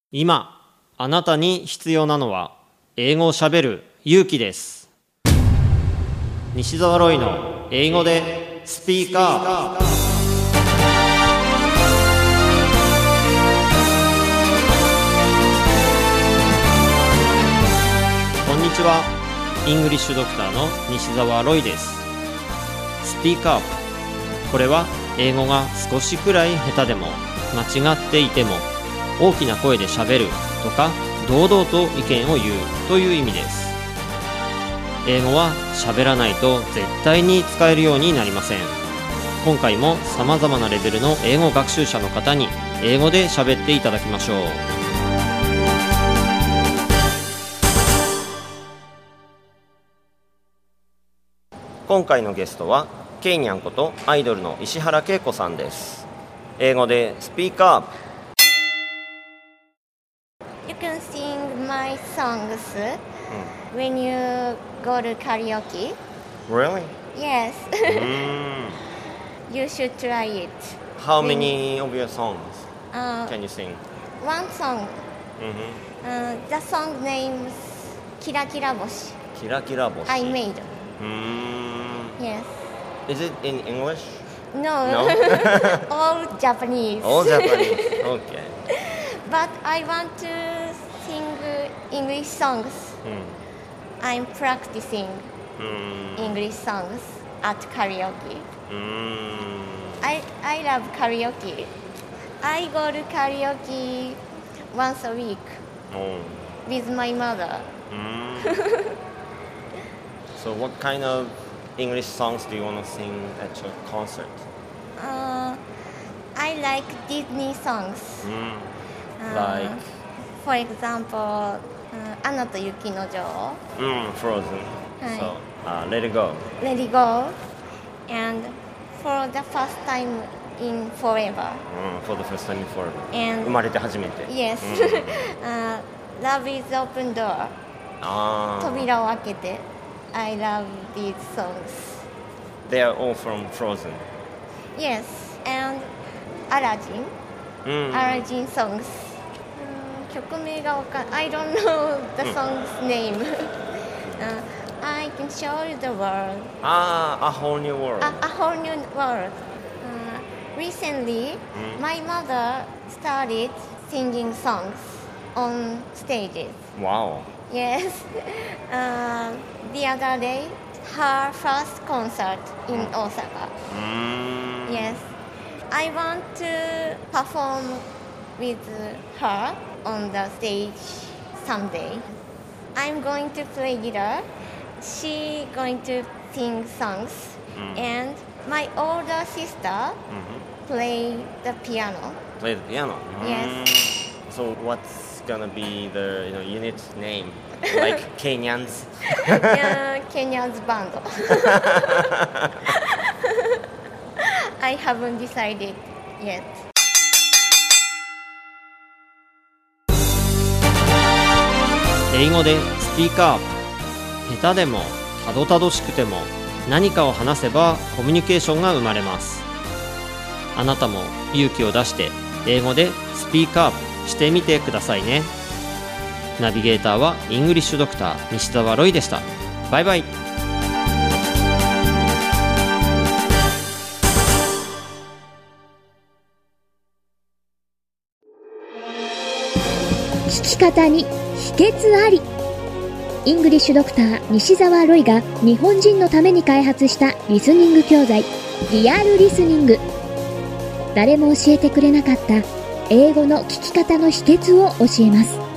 今あなたに必要なのは英語をしゃべる勇気です。西澤ロイの英語でスピーカー。こんにちは。イングリッシュドクターの西澤ロイです。スピーカー。これは英語が少しくらい下手でも間違っていても大きな声でしゃべるとか堂々と意見を言うという意味です。英語はしゃべらないと絶対に使えるようになりません。今回も様々なレベルの英語学習者の方に英語でしゃべっていただきましょう。今回のゲストはケイニャンことアイドルの石原恵子さんです。英語でスピーカー。 You can sing my songs when you go to karaoke. Really? Yes. You should try it. How many of your songs can you sing? One song. The song names Kira Kira Boshi. Kira Kira Boshi. I made. Yes. Is it in English? No. All Japanese. All Japanese. Okay. But I want to sing English songs. I'm practicing English songs at karaoke. I love karaoke. I go to karaoke once a week with my mother. So what kind of English songs do you want to sing at your concert? I like Disney songs. Like? For example, アナと雪の女王. Frozen. So, Let It Go. Let It Go. And for the first time in forever. For the first time in forever. And 生まれて初めて. Yes. Love is Open Door. 扉を開けて. I love these songs. They are all from Frozen. Yes. And Aladdin. Aladdin songs. 曲名がわかんない。I don't know the song's name. I can show you the world. A whole new world. A whole new world. Recently, my mother started singing songs on stages. Wow. Yes. The other day, her first concert in Osaka. Yes. I want to perform with her on the stage someday. I'm going to play guitar. She's going to sing songs. And my older sister play the piano. Play the piano? Yes. So what's gonna be the unit name? Like Kenyans? Kenya's band. I haven't decided yet. 英語でスピーカー。下手でもたどたどしくても何かを話せばコミュニケーションが生まれます。あなたも勇気を出して英語でスピーカーしてみてくださいね。ナビゲーターはイングリッシュドクター西澤ロイでした。バイバイ。 聞き方に秘訣あり。イングリッシュドクター西澤ロイが日本人のために開発したリスニング教材リアルリスニング。誰も教えてくれなかった英語の聞き方の秘訣を教えます。